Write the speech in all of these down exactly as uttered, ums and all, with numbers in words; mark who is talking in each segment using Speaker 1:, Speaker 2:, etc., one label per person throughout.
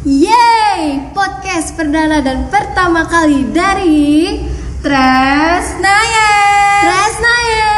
Speaker 1: Yeay, podcast perdana dan pertama kali dari Tresnaya. Tresnaya.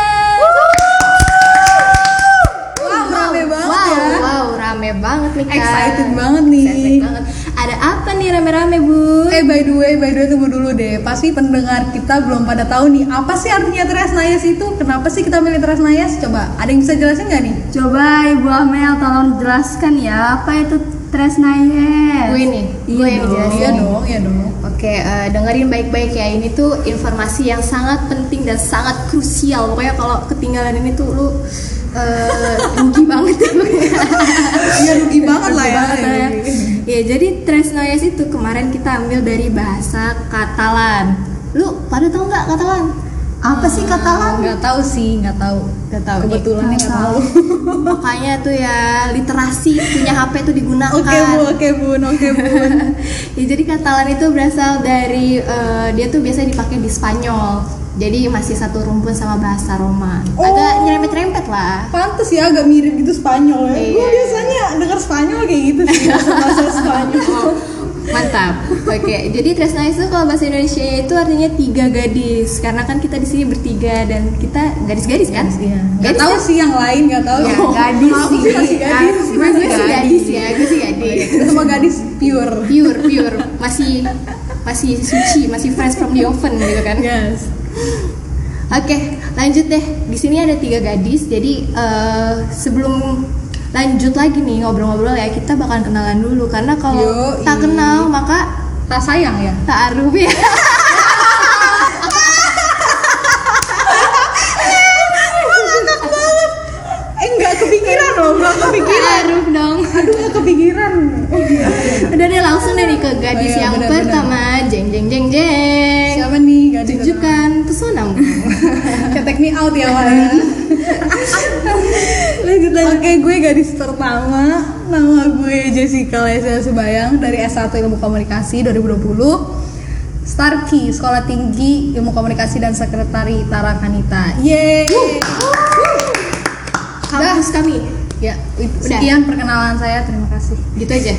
Speaker 2: Wow, rame banget
Speaker 1: wow,
Speaker 2: ya.
Speaker 1: Wow, rame banget nih Kak.
Speaker 2: Excited banget nih.
Speaker 1: Excited banget. Ada apa nih rame-rame, Bu?
Speaker 2: Eh by the way, by the way tunggu dulu deh. Pasti pendengar kita belum pada tahu nih apa sih artinya Tresnayas itu? Kenapa sih kita milih Tresnayas? Coba, ada yang bisa jelasin nggak nih?
Speaker 3: Coba Ibu Amel tolong jelaskan ya, apa itu Tresnayas?
Speaker 1: Gue nih, gue yang dijelasin.
Speaker 2: Iya dong, iya dong.
Speaker 1: Oke, uh, dengerin baik-baik ya. Ini tuh informasi yang sangat penting dan sangat krusial. Pokoknya kalau ketinggalan ini tuh lu uh, rugi banget.
Speaker 2: Iya rugi banget lah ya.
Speaker 1: ya. Ya, jadi Tresnayas itu kemarin kita ambil dari bahasa Katalan. Lu pada tahu nggak Katalan?
Speaker 3: Apa sih Katalan?
Speaker 2: Nggak tahu sih, nggak tahu.
Speaker 1: Nggak tahu.
Speaker 2: Kebetulan
Speaker 3: nih.
Speaker 2: nggak tahu.
Speaker 1: Makanya tuh ya literasi punya H P tuh digunakan.
Speaker 2: Oke bu, oke bun, oke bun.
Speaker 1: Ya, jadi Katalan itu berasal dari uh, dia tuh biasanya dipakai di Spanyol. Jadi masih satu rumpun sama bahasa Roma. Agak
Speaker 2: Oh.
Speaker 1: nyerempet-nyerempet lah.
Speaker 2: Pantes ya agak mirip gitu Spanyol ya.
Speaker 1: Iya.
Speaker 2: Gue biasanya dengar Spanyol kayak gitu sih, bahasa Spanyol.
Speaker 1: Mantap. Oke, jadi Tresnayas itu kalau bahasa Indonesia itu artinya tiga gadis. Karena kan kita di sini bertiga dan kita gadis-gadis kan?
Speaker 2: Iya. Nggak
Speaker 1: Gadis
Speaker 2: tahu
Speaker 1: kan?
Speaker 2: sih yang lain, nggak tahu.
Speaker 1: Ya,
Speaker 2: Oh,
Speaker 3: gadis
Speaker 2: aku
Speaker 3: sih.
Speaker 2: sih masih gadis.
Speaker 3: Aku sih
Speaker 1: Gue
Speaker 3: masih
Speaker 1: sih
Speaker 3: gadis.
Speaker 1: gadis ya, gue sih gadis.
Speaker 2: Kita semua gadis pure.
Speaker 1: Pure, pure, masih masih suci, masih fresh from the oven gitu kan?
Speaker 2: Yes.
Speaker 1: Oke, lanjut deh. Di sini ada tiga gadis. Jadi eh, sebelum lanjut lagi nih ngobrol-ngobrol ya, kita bakal kenalan dulu. Karena kalau
Speaker 2: Yoi.
Speaker 1: tak kenal maka
Speaker 2: Tak sayang ya.
Speaker 1: tak aruf ya.
Speaker 2: Eh nggak kepikiran loh, nggak kepikiran.
Speaker 1: Aruf dong.
Speaker 2: Aduh nggak kepikiran.
Speaker 1: Udah deh langsung deh nih ke gadis
Speaker 2: Oh iya,
Speaker 1: yang
Speaker 2: benar,
Speaker 1: pertama. Jeng jeng jeng jeng.
Speaker 2: Siapa nih gadis?
Speaker 1: Tunjukkan pesonamu.
Speaker 2: Ketek me out ya Wak. Lanjut lanjut. Oke, gue gadis pertama. Nama gue Jessica Lesia Subayang dari S satu Ilmu Komunikasi dua ribu dua puluh. Starkey, Sekolah Tinggi Ilmu Komunikasi dan Sekretari Tara Kanita. Yeay.
Speaker 1: Kampus kami.
Speaker 2: Ya, itu sekian perkenalan saya. Terima kasih.
Speaker 1: Gitu aja.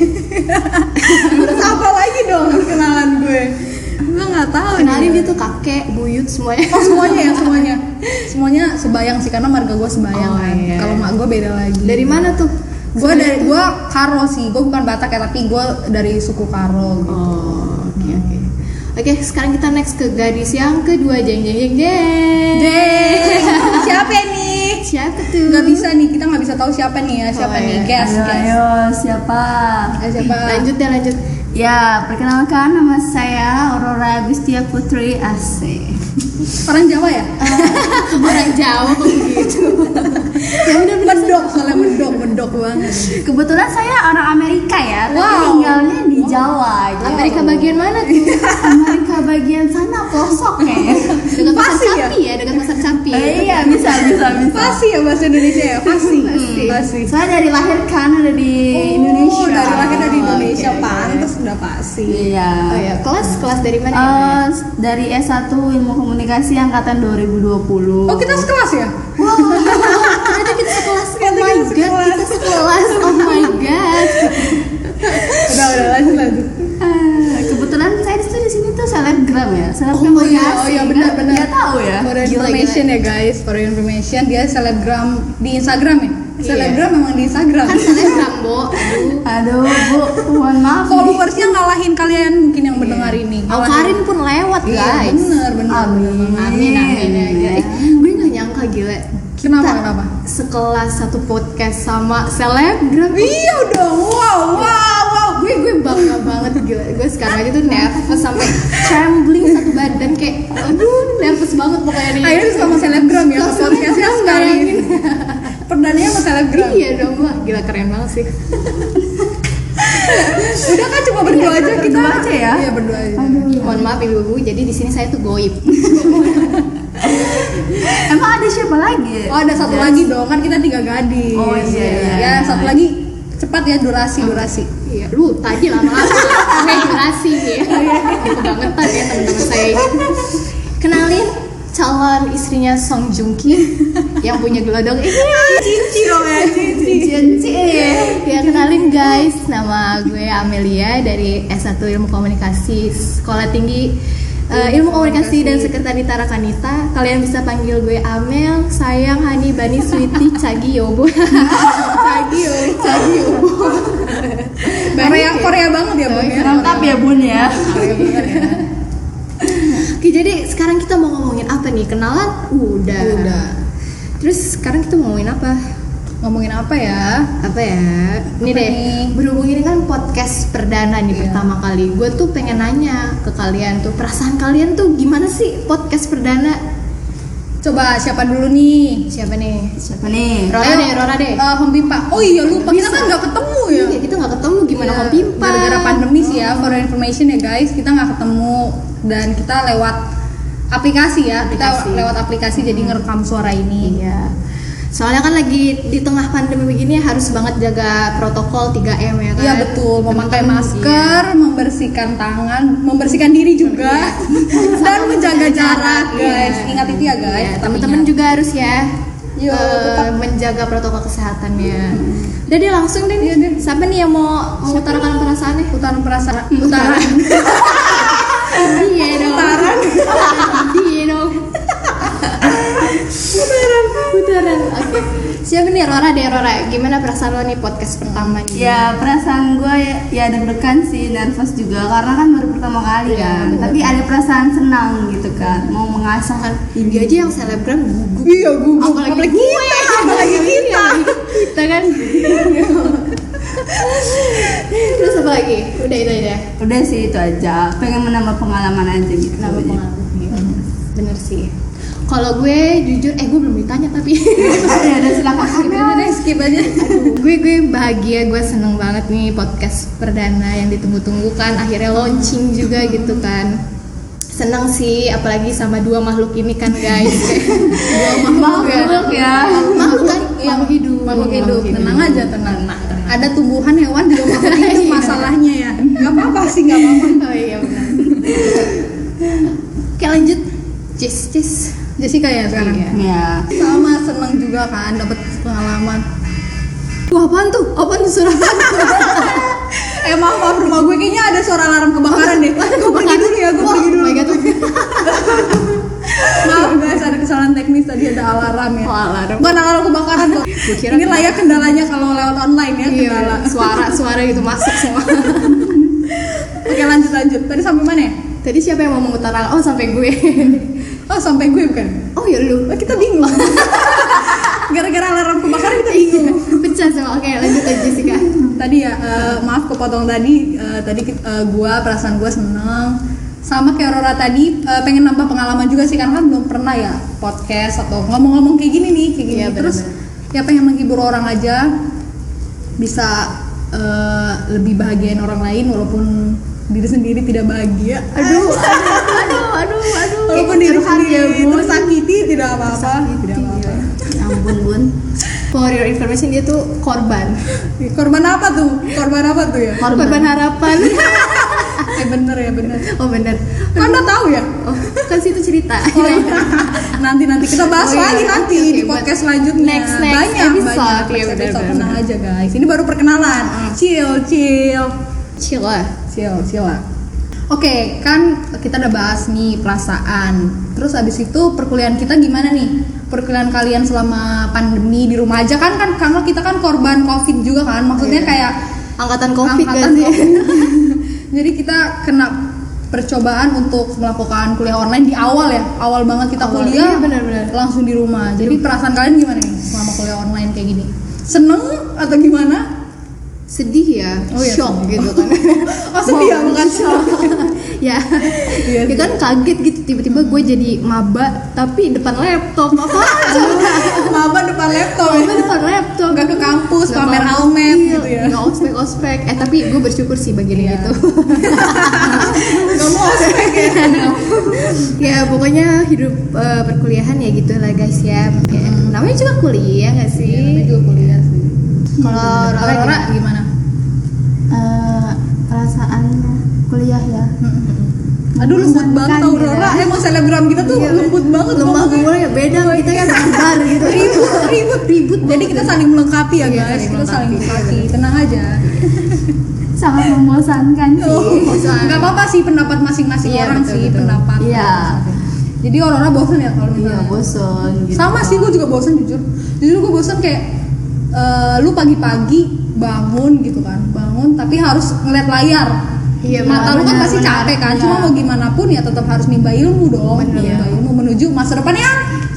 Speaker 2: Terus apa lagi dong perkenalan gue? Gue nggak tahu.
Speaker 1: Kenalin
Speaker 2: nih.
Speaker 1: dia tuh kakek, buyut semuanya.
Speaker 2: Oh semuanya ya semuanya. Semuanya Sebayang sih karena marga gue Sebayang
Speaker 1: Oh,
Speaker 2: kan.
Speaker 1: iya.
Speaker 2: Kalau mak gue beda lagi.
Speaker 1: Dari mana tuh?
Speaker 2: Gue dari gue Karo sih. Gue bukan Batak ya tapi gue dari suku Karo gitu.
Speaker 1: Oh, oke oke. Oke, sekarang kita next ke gadis yang kedua. Jeng jeng jeng jeng.
Speaker 2: Jeng. Siapa nih?
Speaker 1: Siapa tuh?
Speaker 2: Gak bisa nih, kita nggak bisa tahu siapa nih ya. Siapa
Speaker 1: Oh,
Speaker 2: nih?
Speaker 1: iya.
Speaker 2: Guess,
Speaker 3: Ayo,
Speaker 2: guess.
Speaker 3: ayo, siapa?
Speaker 2: Ayo, siapa?
Speaker 1: Lanjut deh lanjut.
Speaker 3: Ya, perkenalkan nama saya Aurora Agustia Putri Asih.
Speaker 2: Orang Jawa ya?
Speaker 1: Orang Jawa kok begitu.
Speaker 2: Ya udah mendok, soalnya mendok, mendok banget.
Speaker 3: Kebetulan saya orang Amerika ya, tapi
Speaker 2: Wow.
Speaker 3: tinggalnya di Jawa. Gitu.
Speaker 1: Amerika bagian mana tuh?
Speaker 3: Amerika bagian sana pelosok ya.
Speaker 1: Dekat pasar
Speaker 2: Pasti ya?
Speaker 1: Capi ya, dekat pasar Capi.
Speaker 3: Eh, iya, bisa, bisa, bisa.
Speaker 2: Pasti ya bahasa Indonesia ya? Pasti.
Speaker 1: Pasti.
Speaker 2: Pasti.
Speaker 3: Saya dari lahir kan ada di Indonesia.
Speaker 2: Oh, dari lahir dari Indonesia,
Speaker 1: Oke, oke.
Speaker 2: pantas udah pasti.
Speaker 3: Iya.
Speaker 1: Oh ya, kelas kelas dari mana ya?
Speaker 3: Eh, dari S satu Ilmu Komunikasi angkatan dua ribu dua puluh.
Speaker 2: Oh kita sekelas ya?
Speaker 1: Wow, ternyata kita sekelas. Oh
Speaker 2: Ternyata
Speaker 1: my
Speaker 2: kita
Speaker 1: god,
Speaker 2: sekelas.
Speaker 1: kita sekelas. Oh my god.
Speaker 2: Udah udah lanjut lanjut.
Speaker 3: Ah, kebetulan saya di situ di sini tuh selebgram ya, selebgram
Speaker 2: Oh iya,
Speaker 3: komunikasi.
Speaker 2: oh iya benar benar.
Speaker 3: Nggak tahu ya.
Speaker 2: For
Speaker 1: Gila,
Speaker 2: information ya guys, for information dia selebgram di Instagram ya.
Speaker 1: Iya.
Speaker 2: Selebgram memang di Instagram.
Speaker 1: Kan selebgram, Bo. Aduh.
Speaker 3: Aduh, Bu, mohon maaf. nih.
Speaker 2: Followersnya ngalahin kalian mungkin yang mendengar ini.
Speaker 1: Oh, Karin pun lewat,
Speaker 2: Iya
Speaker 1: guys.
Speaker 2: bener bener.
Speaker 3: Amin.
Speaker 1: Amin amin aja. Eh, gue nggak nyangka gila.
Speaker 2: Kenapa
Speaker 1: Kita
Speaker 2: kenapa?
Speaker 1: Sekelas satu podcast sama selebgram.
Speaker 2: Iya dong, wow wow wow.
Speaker 1: Gue gue bangga banget gila. Gue sekarang aja tuh nervous sampai trembling satu badan kayak aduh nervous banget pokoknya nih.
Speaker 2: Akhirnya sama selebgram ya ke
Speaker 1: Langsung
Speaker 2: podcastnya
Speaker 1: dong,
Speaker 2: sekali.
Speaker 1: bayangin.
Speaker 2: Perdananya sama selebgram.
Speaker 1: Iya dong, wah gila keren banget sih.
Speaker 2: Udah kan cuma berdua aja kita.
Speaker 3: berdua aja ya?
Speaker 2: Iya berdua aja.
Speaker 1: Mohon maaf ibu-ibu, jadi di sini saya tuh goib.
Speaker 3: Emang ada siapa lagi?
Speaker 2: Oh ada satu lagi dong, kan kita tiga gadis.
Speaker 3: Oh, iya, iya.
Speaker 2: Ya satu lagi cepat ya durasi durasi.
Speaker 1: Iya, lu tadi lama-lama pakai durasi ya. Kebangetan ya teman-teman saya ini. Kenalin calon istrinya Song Joong Ki yang punya gelodong ini.
Speaker 2: Cici dong ya, cici.
Speaker 1: Cici. Ya kenalin guys, nama gue Amelia dari S satu Ilmu Komunikasi Sekolah Tinggi uh, Ilmu Komunikasi dan Sekretariat Tarakanita. Kalian bisa panggil gue Amel, sayang, Hani, Bani, Sweetie, Cagi, Yobo. Cagi, Yobo. Cagi, Yobo.
Speaker 2: Korea Korea banget ya Bun ya.
Speaker 3: Lengkap ya Bun ya.
Speaker 2: Korea banget ya.
Speaker 1: Oke, jadi sekarang kita mau ngomongin apa nih? Kenalan? Udah.
Speaker 2: Udah.
Speaker 1: Terus sekarang kita mau ngomongin apa?
Speaker 2: Ngomongin apa ya?
Speaker 1: Apa ya? Ini
Speaker 2: Apa
Speaker 1: deh.
Speaker 2: nih?
Speaker 1: Berhubung ini kan podcast perdana nih
Speaker 2: Iya.
Speaker 1: pertama kali. Gue tuh pengen nanya ke kalian tuh, perasaan kalian tuh gimana sih podcast perdana?
Speaker 2: Coba siapa dulu nih?
Speaker 1: Siapa nih?
Speaker 3: Siapa nih?
Speaker 1: Rora
Speaker 2: Ayo,
Speaker 1: deh, Rora deh.
Speaker 2: Uh, Home Pimpa. Oh iya lupa, kita
Speaker 1: Bisa.
Speaker 2: kan nggak ketemu ya.
Speaker 1: Iya, kita nggak ketemu gimana
Speaker 2: Iya,
Speaker 1: Home Pimpa?
Speaker 2: Gara-gara pandemi sih ya, for your information ya guys, kita nggak ketemu dan kita lewat aplikasi ya.
Speaker 1: Aplikasi.
Speaker 2: Kita lewat aplikasi jadi ngerekam suara ini.
Speaker 1: Iya. Soalnya kan lagi di tengah pandemi begini harus banget jaga protokol tiga M ya kan?
Speaker 2: Iya betul, memakai
Speaker 1: Temen-temen,
Speaker 2: masker, membersihkan tangan, membersihkan diri juga, dan menjaga jarak guys.
Speaker 1: Iya.
Speaker 2: Ingat itu ya guys.
Speaker 1: Iya,
Speaker 2: tetap
Speaker 1: teman-teman
Speaker 2: ingat.
Speaker 1: juga harus ya.
Speaker 2: Yo,
Speaker 1: eh,
Speaker 2: tetap.
Speaker 1: menjaga protokol kesehatannya. Udah deh langsung deh.
Speaker 2: Iya deh.
Speaker 1: Siapa nih yang mau mengutarakan perasaannya?
Speaker 2: Utaran perasaan, utaran.
Speaker 1: Iya dong.
Speaker 2: Putaran.
Speaker 1: Iya dong. Putaran. Putaran. Oke. Siapa nih Rora deh Rora? Gimana perasaan lo nih podcast pertama nih?
Speaker 3: Ya perasaan gue ya, ya deg-degan sih, nervous juga karena kan baru pertama kali
Speaker 1: Iya,
Speaker 3: kan.
Speaker 1: bener.
Speaker 3: Tapi ada perasaan senang gitu kan, mau mengasah.
Speaker 1: Ini aja yang selebgram gugup.
Speaker 2: Iya gugup.
Speaker 1: Apalagi,
Speaker 2: Apalagi
Speaker 1: gue.
Speaker 2: kita, apalagi kita.
Speaker 1: Kita kan. Terus apa lagi? Udah itu aja.
Speaker 3: Udah sih itu aja, pengen menambah pengalaman aja gitu.
Speaker 1: Kenapa
Speaker 3: aja.
Speaker 1: pengalaman? Bener sih. Kalau gue jujur, eh gue belum ditanya tapi.
Speaker 3: Ya udah silakan.
Speaker 2: Skip aja deh, skip aja.
Speaker 1: Aduh, gue gue bahagia, gue seneng banget nih podcast perdana yang ditunggu-tunggu kan, akhirnya launching juga gitu kan. Seneng sih, apalagi sama dua makhluk ini kan guys. Dua
Speaker 3: Makhluk ya.
Speaker 1: Makhluk kan,
Speaker 2: Iya,
Speaker 1: makhluk hidup.
Speaker 2: Makhluk hidup. Tenang aja, tenang.
Speaker 1: Tenang, tenang.
Speaker 2: Ada tumbuhan hewan juga makhluk hidup
Speaker 1: Iya.
Speaker 2: masalahnya ya. Gak apa-apa sih, gak apa-apa.
Speaker 1: Oh iya benar. Oke lanjut. Cis, cis.
Speaker 2: Jessica ya sekarang.
Speaker 1: Iya.
Speaker 3: Ya.
Speaker 2: Sama seneng juga kan dapat pengalaman.
Speaker 1: Wah apaan tuh? Apaan tuh suara apaan?
Speaker 2: Eh maaf maaf rumah gue kayaknya ada suara alarm kebakaran deh. Gue pergi dulu ya, gue pergi dulu.
Speaker 1: Oh my god.
Speaker 2: Maaf guys, ada kesalahan teknis tadi, ada alarm ya.
Speaker 1: Oh, alarm.
Speaker 2: Bukan alarm kebakaran kok.
Speaker 1: kira
Speaker 2: Ini lah ya kendalanya kalau lewat online ya,
Speaker 1: Iya,
Speaker 2: kendala.
Speaker 1: suara-suara gitu masuk semua.
Speaker 2: Oke lanjut lanjut. Tadi sampai mana ya?
Speaker 1: Tadi siapa yang mau mengutarakan? Oh sampai gue.
Speaker 2: Oh sampai gue bukan?
Speaker 1: Oh ya lu.
Speaker 2: Oh, kita bingung. Gara-gara alarm kebakaran kita bingung.
Speaker 1: Pecah semua. Oke lanjut aja Jessica.
Speaker 2: Tadi ya eh, maaf kepotong tadi. Eh, tadi eh, gue perasaan gue seneng. Sama kayak Rora tadi eh, pengen nambah pengalaman juga sih karena kan belum pernah ya podcast atau ngomong-ngomong kayak gini nih kayak gini.
Speaker 1: Iya,
Speaker 2: Terus
Speaker 1: benar-benar.
Speaker 2: ya pengen menghibur orang aja, bisa eh, lebih bahagiain orang lain walaupun diri sendiri tidak bahagia.
Speaker 1: Aduh, aduh, aduh, aduh, aduh.
Speaker 2: Walaupun diri
Speaker 1: Curhat
Speaker 2: sendiri
Speaker 1: ya, Bun.
Speaker 2: tersakiti tidak apa-apa.
Speaker 1: Tersakiti,
Speaker 2: Tidak apa-apa.
Speaker 3: Ya ampun Bun.
Speaker 1: For your information dia tuh korban.
Speaker 2: Korban apa tuh? Korban apa tuh ya?
Speaker 1: Korban harapan.
Speaker 2: Eh bener ya bener.
Speaker 1: Oh bener.
Speaker 2: Kok Anda tahu ya?
Speaker 1: Oh kan situ cerita.
Speaker 2: Oh, nanti nanti kita bahas
Speaker 1: Oh, iya.
Speaker 2: lagi nanti
Speaker 1: Oke,
Speaker 2: di
Speaker 1: oke,
Speaker 2: podcast
Speaker 1: buat
Speaker 2: selanjutnya.
Speaker 1: next- next
Speaker 2: banyak
Speaker 1: episode.
Speaker 2: banyak.
Speaker 1: Iya,
Speaker 2: Next
Speaker 1: bener,
Speaker 2: episode,
Speaker 1: bener,
Speaker 2: tenang aja guys. Ini baru perkenalan. Chill chill
Speaker 1: Chill lah.
Speaker 2: chill chill lah. Oke, kan kita udah bahas nih perasaan. Terus abis itu perkuliahan kita gimana nih? Perkuliahan kalian selama pandemi di rumah aja kan kan karena kita kan korban Covid juga kan. Maksudnya
Speaker 1: Iya.
Speaker 2: kayak
Speaker 1: Angkatan Covid
Speaker 2: angkatan
Speaker 1: kan sih.
Speaker 2: Covid. Jadi kita kena percobaan untuk melakukan kuliah online di awal ya. Awal banget kita
Speaker 1: Awal,
Speaker 2: kuliah
Speaker 1: iya, benar-benar.
Speaker 2: langsung di rumah. Jadi perasaan kalian gimana nih selama kuliah online kayak gini? Seneng atau gimana?
Speaker 1: Sedih ya,
Speaker 2: Oh, iya,
Speaker 1: shock
Speaker 2: sedih.
Speaker 1: gitu kan.
Speaker 2: Oh sedih ya, bukan shock.
Speaker 1: Ya,
Speaker 2: Iya,
Speaker 1: ya kan kaget gitu tiba-tiba gue jadi maba tapi depan laptop apa aja.
Speaker 2: Maba depan laptop
Speaker 1: Maba
Speaker 2: ya.
Speaker 1: depan laptop.
Speaker 2: Nggak ke kampus,
Speaker 1: Nggak
Speaker 2: pamer
Speaker 1: kampus,
Speaker 2: helmet
Speaker 1: iya,
Speaker 2: gitu ya.
Speaker 1: nggak ospek ospek. Eh tapi gue bersyukur sih bagian
Speaker 2: Iya.
Speaker 1: itu.
Speaker 2: Gak mau ospek ya.
Speaker 1: Ya pokoknya hidup eh, perkuliahan ya gitu lah guys ya. Ya, namanya juga kuliah nggak sih?
Speaker 2: Iya, juga kuliah sih.
Speaker 1: Kalau
Speaker 2: Kalau
Speaker 1: Rora
Speaker 2: Rora
Speaker 1: gimana?
Speaker 2: gimana?
Speaker 3: Eh, perasaan kuliah ya.
Speaker 2: Mm-mm. Aduh lembut banget tau Aurora,
Speaker 3: ya.
Speaker 2: emang selebgram kita tuh lembut banget.
Speaker 1: Lemah gue ya beda, kita kan barbar gitu.
Speaker 2: Ribut, ribut, ribut. Jadi kita saling melengkapi ya
Speaker 1: Iya,
Speaker 2: guys,
Speaker 1: saling
Speaker 2: kita saling
Speaker 1: melengkapi.
Speaker 2: melengkapi. Tenang aja.
Speaker 3: Sangat membosankan sih.
Speaker 2: Oh, nggak apa-apa sih pendapat masing-masing
Speaker 1: Iya,
Speaker 2: orang
Speaker 1: betul,
Speaker 2: sih
Speaker 1: betul.
Speaker 2: pendapat.
Speaker 3: Iya.
Speaker 2: Jadi Aurora bosan ya kalau
Speaker 3: Iya,
Speaker 2: misalnya.
Speaker 3: bosan gitu.
Speaker 2: Sama sih, gue juga bosan jujur. Jujur gue bosan kayak eh, lu pagi-pagi bangun gitu kan, bangun tapi harus ngeliat layar.
Speaker 1: Iya,
Speaker 2: Mata lu kan
Speaker 3: benar,
Speaker 2: pasti
Speaker 3: benar.
Speaker 2: capek kan,
Speaker 3: Iya.
Speaker 2: cuma mau gimana pun ya tetap harus nimba ilmu dong,
Speaker 1: Benar.
Speaker 2: nimba ilmu menuju masa depan yang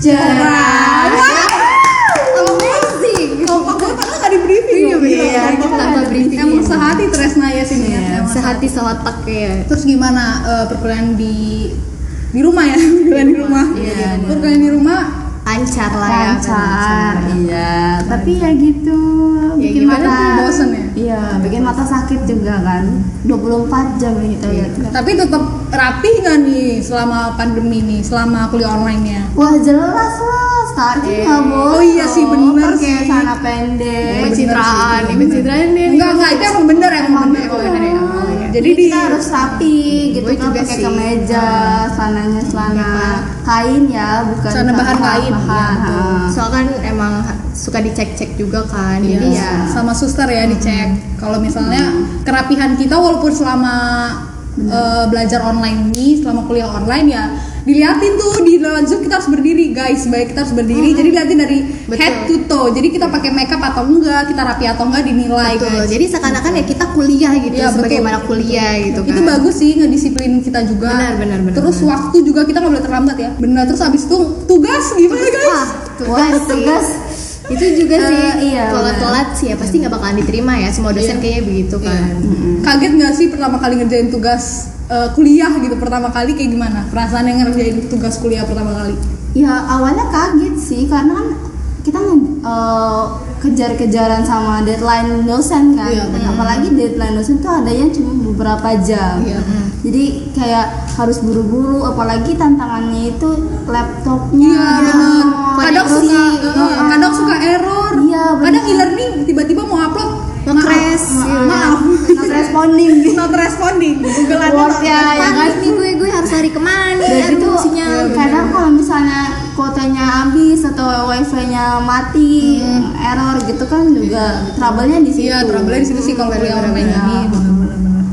Speaker 3: Cerah.
Speaker 2: Kalau amazing. Kompak gue padahal nggak di briefing.
Speaker 1: Iya,
Speaker 2: loh,
Speaker 1: benar.
Speaker 2: gitu.
Speaker 1: Tanpa
Speaker 2: Emang-
Speaker 1: briefing.
Speaker 2: Emang sehati Tresna ya sini ya.
Speaker 3: Iya,
Speaker 2: emang
Speaker 1: Sehati seotak ya.
Speaker 2: Terus gimana eh, perkuliahan di di rumah ya? Perkuliahan di rumah.
Speaker 1: Iya,
Speaker 2: Perkuliahan di rumah.
Speaker 1: Lancar lah ya.
Speaker 3: Lancar, iya. Tapi ya gitu,
Speaker 1: Ya,
Speaker 3: bikin
Speaker 1: gimana
Speaker 3: mata
Speaker 2: tuh, bosen ya?
Speaker 3: Iya, bikin mata sakit juga kan. dua puluh empat jam kita lihat.
Speaker 2: Tapi tetap rapi nggak nih selama pandemi nih, selama kuliah online-nya?
Speaker 3: Wah, jelas lah, starting
Speaker 1: Eh,
Speaker 3: nggak boleh.
Speaker 2: oh iya sih,
Speaker 3: dong.
Speaker 2: bener
Speaker 3: Pakai
Speaker 2: sih.
Speaker 3: celana pendek.
Speaker 1: Pencitraan, nih pencitraan nih.
Speaker 2: Enggak, enggak, itu emang bener, emang bener.
Speaker 1: Oh, bener ya. Oh, iya.
Speaker 2: Jadi
Speaker 3: Jadi
Speaker 2: di
Speaker 3: kita harus rapi gitu
Speaker 1: Gue
Speaker 3: kan,
Speaker 1: juga
Speaker 3: pakai
Speaker 1: sih.
Speaker 3: kemeja, celananya celana kain ya, bukan
Speaker 2: Celana bahan kain,
Speaker 3: bahan.
Speaker 2: iya, betul.
Speaker 3: Ha.
Speaker 1: Soalnya kan emang suka dicek-cek juga kan.
Speaker 2: Iya,
Speaker 1: Jadi ya
Speaker 2: sama suster ya dicek. Kalau misalnya kerapihan kita walaupun selama eh, belajar online ini, selama kuliah online ya diliatin tuh di dalam Zoom kita harus berdiri guys, baik kita harus berdiri. Jadi liatin dari
Speaker 1: Betul.
Speaker 2: head to toe. Jadi kita pakai makeup atau enggak, kita rapi atau enggak dinilai
Speaker 1: betul.
Speaker 2: guys.
Speaker 1: Jadi seakan-akan ya kita kuliah gitu,
Speaker 2: Iya, betul.
Speaker 1: sebagaimana kuliah gitu kan.
Speaker 2: Itu bagus sih ngedisiplin kita juga.
Speaker 1: Benar, benar, benar,
Speaker 2: Terus
Speaker 1: benar.
Speaker 2: waktu juga kita nggak boleh terlambat ya. Benar. Terus abis itu tugas gimana guys?
Speaker 1: Wah, tugas
Speaker 3: Wah,
Speaker 1: sih.
Speaker 3: tugas.
Speaker 1: Itu juga
Speaker 3: Eh,
Speaker 1: sih.
Speaker 3: iya,
Speaker 1: Kalau
Speaker 3: benar.
Speaker 1: telat sih ya pasti nggak bakalan diterima ya. Semua dosen
Speaker 2: Iya.
Speaker 1: kayaknya begitu kan.
Speaker 2: Kaget nggak sih pertama kali ngerjain tugas eh, kuliah gitu pertama kali kayak gimana? Perasaan yang ngerjain tugas kuliah pertama kali?
Speaker 3: Ya awalnya kaget sih karena kan kita nge- eh, kejar-kejaran sama deadline dosen kan.
Speaker 2: Iya, benar.
Speaker 3: Apalagi deadline dosen tuh adanya cuma beberapa jam.
Speaker 2: Iya.
Speaker 3: Jadi kayak harus buru-buru, apalagi tantangannya itu laptopnya.
Speaker 2: Iya benar. Kadang
Speaker 3: Terus,
Speaker 2: suka,
Speaker 3: iya.
Speaker 2: eh, kadang suka error.
Speaker 3: Iya, benar.
Speaker 2: Kadang e-learning tiba-tiba mau upload
Speaker 1: Nge-crash,
Speaker 2: maaf,
Speaker 1: iya.
Speaker 2: maaf,
Speaker 3: not responding.
Speaker 2: not responding. Google ada
Speaker 3: Word
Speaker 2: not
Speaker 3: ya, ya
Speaker 2: responding.
Speaker 3: kan?
Speaker 1: Panik nih gue, gue harus lari kemana?
Speaker 3: Dan
Speaker 1: Aduh,
Speaker 3: itu
Speaker 1: sinyal.
Speaker 3: kadang kalau misalnya kuotanya habis atau wifi-nya mati, error gitu kan juga trouble-nya di situ.
Speaker 2: Iya, trouble di situ sih kalau kuliah
Speaker 1: Benar,
Speaker 2: online
Speaker 1: benar,
Speaker 2: ini.
Speaker 3: benar.
Speaker 2: Benar-benar.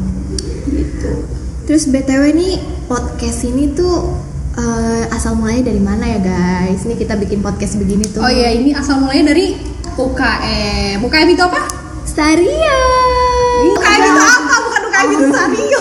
Speaker 1: Terus B T W nih podcast ini tuh eh, asal mulanya dari mana ya guys? Ini kita bikin podcast begini tuh.
Speaker 2: Oh iya, ini asal mulanya dari U K M. U K M itu apa?
Speaker 1: Staria.
Speaker 2: U K M itu apa? Bukan U K M itu Sario.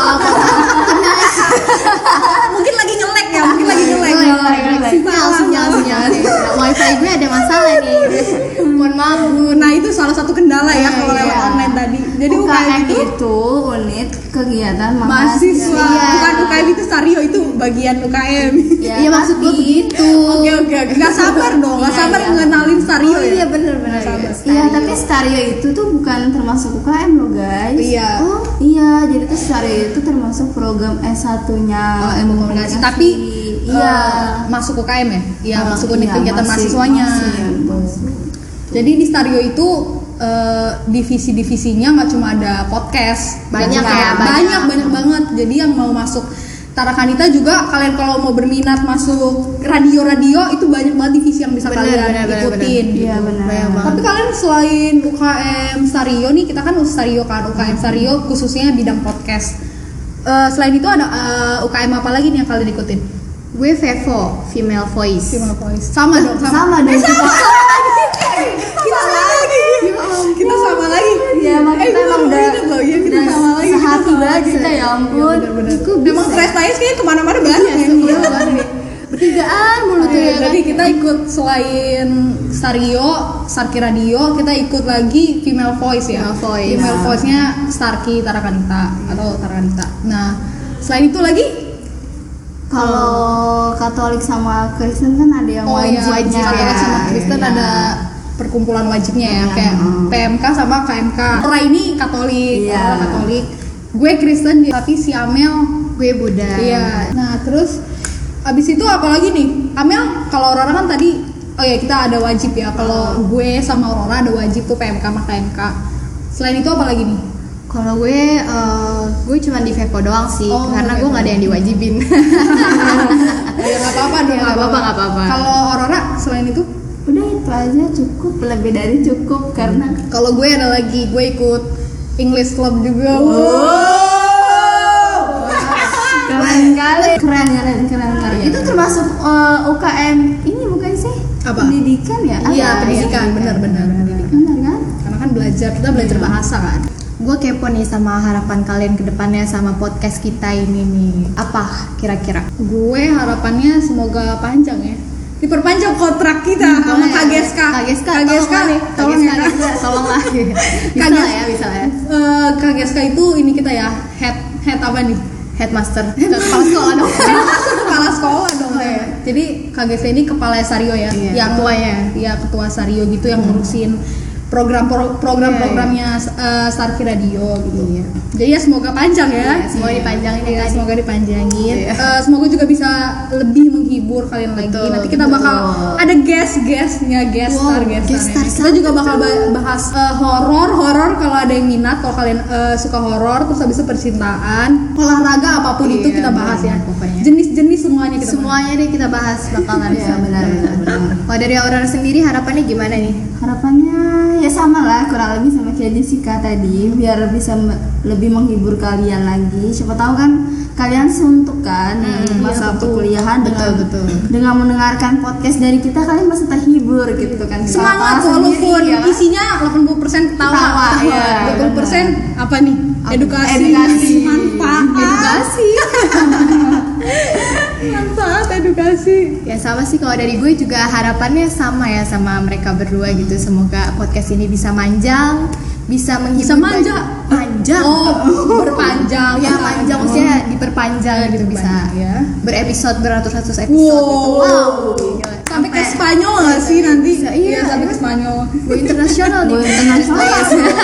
Speaker 2: Mungkin lagi nge-lag ya, mungkin lagi nge-lag.
Speaker 1: Sinyal, sinyal, sinyal. Wifi gue ada masalah nih. Mohon maaf Bu.
Speaker 2: Nah itu salah satu kendala ya kalau
Speaker 3: Iya.
Speaker 2: lewat online tadi. Jadi
Speaker 3: U
Speaker 2: U
Speaker 3: K
Speaker 2: K M
Speaker 3: M
Speaker 2: itu
Speaker 3: itu unit kegiatan
Speaker 2: mahasiswa,
Speaker 1: Iya.
Speaker 2: bukan U K M itu Sario, itu bagian U K M.
Speaker 1: Iya maksud gue begitu.
Speaker 2: Oke oke oke, nggak sabar dong, nggak
Speaker 3: Iya,
Speaker 2: sabar
Speaker 3: iya.
Speaker 2: ngenalin Sario
Speaker 1: Oh
Speaker 2: ya.
Speaker 1: iya bener-bener.
Speaker 2: Sabar.
Speaker 3: Iya, tapi Stario itu tuh bukan termasuk U K M loh guys.
Speaker 2: Iya.
Speaker 3: Oh iya, jadi tuh Stario itu termasuk program S satu-nya
Speaker 2: Oh, ilmu komunikasi, tapi
Speaker 3: iya.
Speaker 2: eh, masuk U K M ya? Iya,
Speaker 3: Oh,
Speaker 2: masuk unit
Speaker 3: iya,
Speaker 2: kegiatan
Speaker 3: masih-
Speaker 2: mahasiswanya.
Speaker 3: masih,
Speaker 2: Gitu.
Speaker 3: masih.
Speaker 2: Jadi di Stario itu eh, divisi-divisinya nggak cuma ada podcast,
Speaker 1: Banyak
Speaker 2: Jadi
Speaker 1: ya,
Speaker 2: banyak
Speaker 1: banyak.
Speaker 2: banyak banget. Jadi yang mau masuk Tarakanita juga, kalian kalau mau berminat masuk radio-radio itu banyak banget divisi yang bisa
Speaker 1: Bener,
Speaker 2: kalian
Speaker 1: bener, bener,
Speaker 2: ikutin.
Speaker 1: bener.
Speaker 3: Iya benar.
Speaker 1: Banyak banget.
Speaker 2: Tapi kalian selain U K M Stario nih, kita kan Stario kan, U K M Stario khususnya bidang podcast. Eh, selain itu ada eh, U K M apa lagi nih yang kalian ikutin?
Speaker 1: Gue Vevo, female voice.
Speaker 2: Female voice. Sama dong, sama.
Speaker 3: Sama dong kita.
Speaker 2: Kita sama lagi. Kita sama lagi.
Speaker 3: Ya emang
Speaker 2: Eh,
Speaker 3: kita
Speaker 2: gue
Speaker 3: emang
Speaker 2: baru
Speaker 3: udah
Speaker 2: ingat loh, ya kita
Speaker 3: udah
Speaker 2: sama lagi. kita
Speaker 3: sehati
Speaker 2: sama
Speaker 3: banget
Speaker 2: lagi.
Speaker 3: kita, ya ampun.
Speaker 2: Iya, bener-bener.
Speaker 1: Kok bisa
Speaker 2: Memang
Speaker 1: ya?
Speaker 2: Tres Nais kayaknya kemana-mana banyak ya.
Speaker 1: Iya, bertigaan mulu tuh ya kan.
Speaker 2: Jadi kita ikut selain Stario, Starkey Radio, kita ikut lagi Female Voice ya.
Speaker 1: Female Voice.
Speaker 2: Female
Speaker 1: Nah.
Speaker 2: Voice-nya Starkey Tarakanita atau Tarakanita. Nah, selain itu lagi
Speaker 3: Kalau Katolik sama Kristen kan ada yang
Speaker 2: oh iya,
Speaker 3: wajibnya.
Speaker 2: Katolik sama Kristen
Speaker 3: Iya.
Speaker 2: ada perkumpulan wajibnya ya,
Speaker 3: Iya.
Speaker 2: kayak P M K sama K M K. Aura ini Katolik,
Speaker 3: Iya.
Speaker 2: Aura Katolik. Gue Kristen, tapi si Amel
Speaker 1: Gue Buddha.
Speaker 2: iya. Nah, terus abis itu apa lagi nih? Amel, kalau Aurora kan tadi, oh ya kita ada wajib ya. Kalau gue sama Aurora ada wajib tuh P M K sama K M K. Selain itu apa lagi nih?
Speaker 1: Kalau gue, eh, gue cuman di Vevo doang sih,
Speaker 2: Oh,
Speaker 1: karena gue
Speaker 2: Vevo.
Speaker 1: nggak ada yang diwajibin.
Speaker 2: Ya nggak apa-apa dong.
Speaker 1: Ya, nggak apa-apa, nggak apa-apa.
Speaker 2: Kalau Aurora selain itu?
Speaker 3: Udah itu aja cukup, lebih dari cukup karena
Speaker 2: Kalau gue ada lagi, gue ikut English Club juga.
Speaker 3: keren kali. Keren keren keren keren.
Speaker 1: Iya.
Speaker 3: Itu termasuk uh, U K M ini bukan sih?
Speaker 2: Apa?
Speaker 3: Pendidikan ya?
Speaker 2: Iya,
Speaker 3: Apa?
Speaker 2: pendidikan, benar-benar.
Speaker 3: Benar kan?
Speaker 2: Karena kan belajar, kita belajar bahasa kan.
Speaker 1: Gue kepo nih sama harapan kalian ke depannya sama podcast kita ini nih. Apa kira-kira?
Speaker 2: Gue harapannya semoga panjang ya. Diperpanjang kontrak kita sama K G S K.
Speaker 1: K G S K,
Speaker 2: K G S K
Speaker 1: tolong nih,
Speaker 2: tolong ya.
Speaker 1: tolong lah. Bisa lah ya, bisa lah ya.
Speaker 2: Eh, K G S K itu ini kita ya, head head apa nih?
Speaker 1: Headmaster, kepala sekolah dong.
Speaker 2: Kepala sekolah dong ya. Jadi K G S K ini kepala Sario ya,
Speaker 1: Iya,
Speaker 2: yang
Speaker 1: ketuanya.
Speaker 2: ya ketua Sario gitu yang ngurusin program program programnya uh, Starkey Radio gitu.
Speaker 1: Iya.
Speaker 2: Jadi ya semoga panjang ya.
Speaker 1: Iya, semoga dipanjangin ya,
Speaker 2: Iya,
Speaker 1: Kak.
Speaker 2: semoga dipanjangin.
Speaker 1: Iya.
Speaker 2: Eh, semoga juga bisa lebih menghibur kalian lagi.
Speaker 1: Betul,
Speaker 2: Nanti kita
Speaker 1: betul.
Speaker 2: bakal ada guest-guestnya, guest
Speaker 1: Wow,
Speaker 2: star, guest
Speaker 1: guest
Speaker 2: star.
Speaker 1: star
Speaker 2: Kita juga bakal ba- bahas eh, horor, horor kalau ada yang minat, kalau kalian eh, suka horor, terus habis itu percintaan, olahraga apapun
Speaker 1: Iya,
Speaker 2: itu kita bahas ya.
Speaker 1: benar, pokoknya.
Speaker 2: Jenis-jenis semuanya kita bahas.
Speaker 1: Semuanya deh kita bahas bakalan.
Speaker 3: Iya, benar benar benar.
Speaker 1: Kalau dari Aurora sendiri harapannya gimana nih?
Speaker 3: Harapannya ya sama lah, kurang lebih sama kayak Jessica tadi, biar bisa me- lebih menghibur kalian lagi. Siapa tahu kan kalian suntuk kan di
Speaker 1: Hmm,
Speaker 3: masa
Speaker 1: iya, betul.
Speaker 3: perkuliahan dengan
Speaker 1: Betul, betul.
Speaker 3: dengan mendengarkan podcast dari kita, kalian pasti terhibur gitu kan.
Speaker 2: Semangat
Speaker 3: Ketawa
Speaker 2: walaupun
Speaker 3: sendiri, ya kan?
Speaker 2: isinya delapan puluh persen ketawa,
Speaker 3: Ketawa, iya,
Speaker 2: dua puluh persen apa nih? Edukasi,
Speaker 3: Edukasi.
Speaker 2: manfaat,
Speaker 1: Edukasi.
Speaker 2: manfaat edukasi.
Speaker 1: Ya sama sih, kalau dari gue juga harapannya sama ya sama mereka berdua gitu. Semoga podcast ini bisa manjang, bisa menghibur.
Speaker 2: Bisa manja.
Speaker 1: banyak- panjang.
Speaker 2: Oh, berpanjang.
Speaker 1: Ya panjang, maksudnya diperpanjang gitu, bisa
Speaker 2: ya.
Speaker 1: berepisode beratus-ratus episode gitu.
Speaker 2: Wow.
Speaker 1: Wow. Gila.
Speaker 2: Sampai ke Spanyol nggak sih nanti?
Speaker 1: Bisa, iya.
Speaker 2: sampai ke Spanyol.
Speaker 1: Gue internasional nih.
Speaker 3: Go internasional.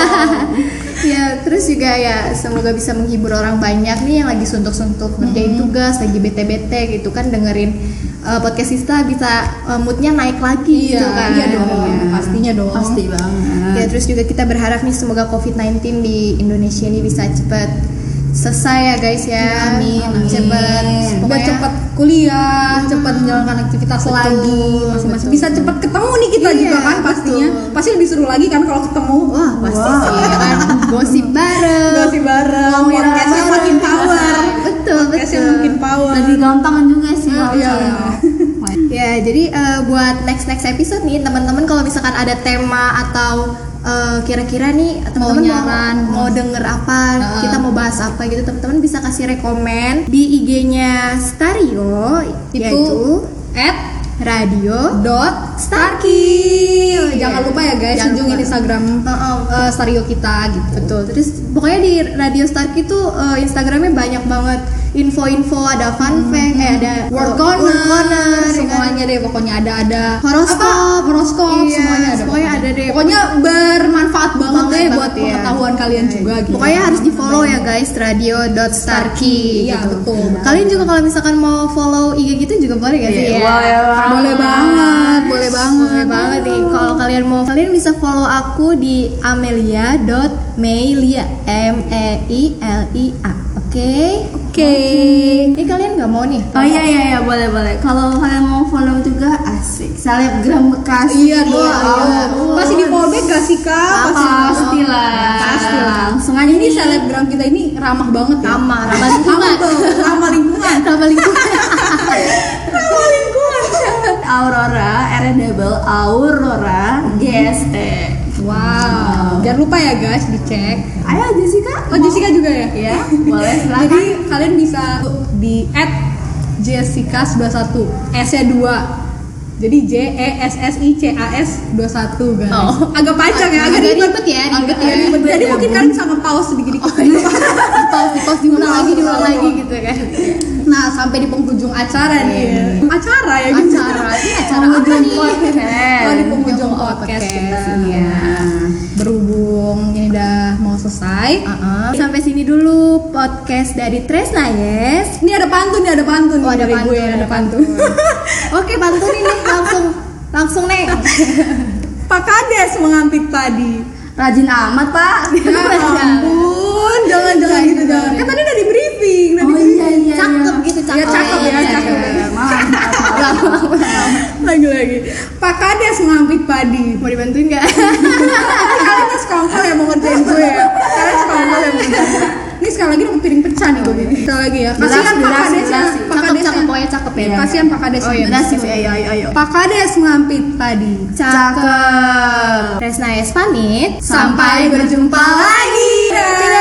Speaker 1: Ya terus juga ya semoga bisa menghibur orang banyak nih yang lagi suntuk-suntuk ngerjain tugas, lagi bete-bete gitu kan, dengerin uh, podcast kita bisa uh, moodnya naik lagi
Speaker 2: Iya,
Speaker 1: gitu kan.
Speaker 2: iya dong,
Speaker 1: Iya.
Speaker 2: pastinya dong.
Speaker 3: Pasti banget.
Speaker 1: Ya terus juga kita berharap nih semoga covid sembilan belas di Indonesia ini bisa cepat selesai ya guys ya.
Speaker 2: Amin, amin.
Speaker 1: Cepet,
Speaker 2: Udah
Speaker 1: pokoknya
Speaker 2: cepet kuliah, cepet menjalankan aktivitas
Speaker 1: Betul,
Speaker 2: lagi, masing-masing
Speaker 1: betul.
Speaker 2: bisa cepet ketemu nih kita
Speaker 1: Iya,
Speaker 2: juga kan pastinya.
Speaker 1: betul.
Speaker 2: Pasti lebih seru lagi kan kalau ketemu.
Speaker 1: wah pasti
Speaker 3: Wah.
Speaker 1: sih ya kan, gosip bareng.
Speaker 2: Gosip bareng,
Speaker 1: Ngomongin orang
Speaker 2: podcastnya
Speaker 1: bareng.
Speaker 2: makin power.
Speaker 1: Betul,
Speaker 2: Podcastnya
Speaker 1: betul.
Speaker 2: makin power.
Speaker 3: Lebih gampangan juga sih
Speaker 2: Ah,
Speaker 3: kalau
Speaker 2: iya.
Speaker 3: misalnya.
Speaker 1: Ya, jadi eh, buat next next episode nih teman-teman, kalau misalkan ada tema atau eh, kira-kira nih teman-teman
Speaker 2: Mau nyaran.
Speaker 1: mau, mau denger apa,
Speaker 2: Heeh.
Speaker 1: kita mau bahas apa gitu, teman-teman bisa kasih rekomen di I G-nya Stario,
Speaker 2: Itu
Speaker 1: yaitu
Speaker 2: at
Speaker 1: radio
Speaker 2: dot
Speaker 1: Starkey.
Speaker 2: Starkey. Jangan lupa ya guys,
Speaker 1: Jangan
Speaker 2: kunjungin
Speaker 1: lupa.
Speaker 2: Instagram
Speaker 1: Heeh.
Speaker 2: uh, Stario kita gitu.
Speaker 1: Betul. Terus pokoknya di Radio Starkey tuh eh, Instagramnya banyak banget info-info, ada fun fact, eh ada
Speaker 2: Word
Speaker 1: oh,
Speaker 2: corner,
Speaker 1: word corner, ya kan?
Speaker 2: semuanya deh pokoknya ada ada
Speaker 1: Horoskop.
Speaker 2: apa, horoskop
Speaker 1: Iya,
Speaker 2: semuanya ada
Speaker 1: semuanya ada deh.
Speaker 2: pokoknya bermanfaat banget
Speaker 1: Banget
Speaker 2: deh buat
Speaker 1: banget, iya.
Speaker 2: pengetahuan kalian juga gitu.
Speaker 1: Pokoknya harus di follow ya guys, radio dot starkey.
Speaker 2: Iya,
Speaker 1: gitu.
Speaker 2: betul.
Speaker 1: Kalian juga kalau misalkan mau follow I G gitu juga boleh gak sih?
Speaker 3: Iya,
Speaker 1: Ya?
Speaker 3: boleh banget.
Speaker 2: boleh banget boleh banget
Speaker 1: Boleh banget nih. Kalau kalian mau, kalian bisa follow aku di amelia dot meilia, M E I L I A. Oke.
Speaker 2: oke
Speaker 1: Ini kalian nggak mau nih?
Speaker 3: Oh iya iya iya, boleh boleh. Kalau kalian mau follow juga asik. Selebgram Bekasi.
Speaker 2: iya dong
Speaker 3: Wow.
Speaker 2: pasti di fallback gak sih kak pasti
Speaker 3: Pastilah.
Speaker 2: pastilah
Speaker 3: Sengaja
Speaker 2: ini
Speaker 3: nih.
Speaker 2: selebgram kita ini ramah banget ya
Speaker 1: Ramah, ramah lingkungan.
Speaker 2: ramah tuh ramah lingkungan
Speaker 1: Ramah lingkungan.
Speaker 2: ramah lingkungan
Speaker 3: Aurora, R double Aurora, G S T.
Speaker 2: wow jangan lupa ya guys dicek.
Speaker 3: Ayo Jessica.
Speaker 2: Oh Jessica juga ya?
Speaker 3: Iya, boleh silakan.
Speaker 2: Jadi kalian bisa di at Jessica sembilan satu, S-nya dua. Jadi J E S S I C A S dua puluh satu guys.
Speaker 1: Oh.
Speaker 2: Agak panjang ya, agak
Speaker 1: Agak
Speaker 2: ribet.
Speaker 1: ribet ya,
Speaker 2: Agak
Speaker 1: ribet ya.
Speaker 2: ribet. Jadi
Speaker 3: Ribet
Speaker 2: mungkin
Speaker 3: ya,
Speaker 2: kalian bisa nge-pause sedikit-dikit.
Speaker 1: Di pause, di pause, diulang lagi, diulang lagi gitu kan.
Speaker 2: Nah, sampai di penghujung acara nih. Acara ya gitu.
Speaker 1: Acara, ini acara apa
Speaker 2: Penghujung
Speaker 1: nih?
Speaker 2: podcast. Oh, di penghujung
Speaker 1: Oh,
Speaker 2: podcast
Speaker 1: podcast,
Speaker 2: kita.
Speaker 1: iya.
Speaker 2: Berhubung ini udah mau selesai.
Speaker 1: Uh-uh. Sampai sini dulu podcast dari Tresna, yes.
Speaker 2: Ini ada pantun, nih ada pantun.
Speaker 1: Oh, ada
Speaker 2: dari
Speaker 1: pantun,
Speaker 2: gue,
Speaker 1: ada
Speaker 2: ada pantun.
Speaker 1: Oke, pantun ini langsung langsung nih.
Speaker 2: Pak Kades mengampit padi.
Speaker 3: Rajin amat, Pak.
Speaker 2: Ya ampun, jangan jangan gitu jangan. Kan tadi udah diberi Pak Kades ngampit padi.
Speaker 1: Mau dibantuin nggak?
Speaker 2: Kalian tuh sekongkol yang mau ngerjain gue ya. Kalian sekongkol yang mau ngerjain gue. Ini sekali lagi dapet piring pecah nih gue bikin. Sekali lagi ya. Kasihan Pak Kades ya. Pak Kades
Speaker 1: Cakep, pokoknya cakep ya.
Speaker 2: Kasihan Pak Kades.
Speaker 1: Oh iya,
Speaker 3: Berhasil.
Speaker 1: ayo ayo ayo.
Speaker 2: Pak Kades ngampit padi.
Speaker 3: Cakep.
Speaker 1: Resna S pamit.
Speaker 3: Sampai berjumpa lagi.
Speaker 2: Dadah.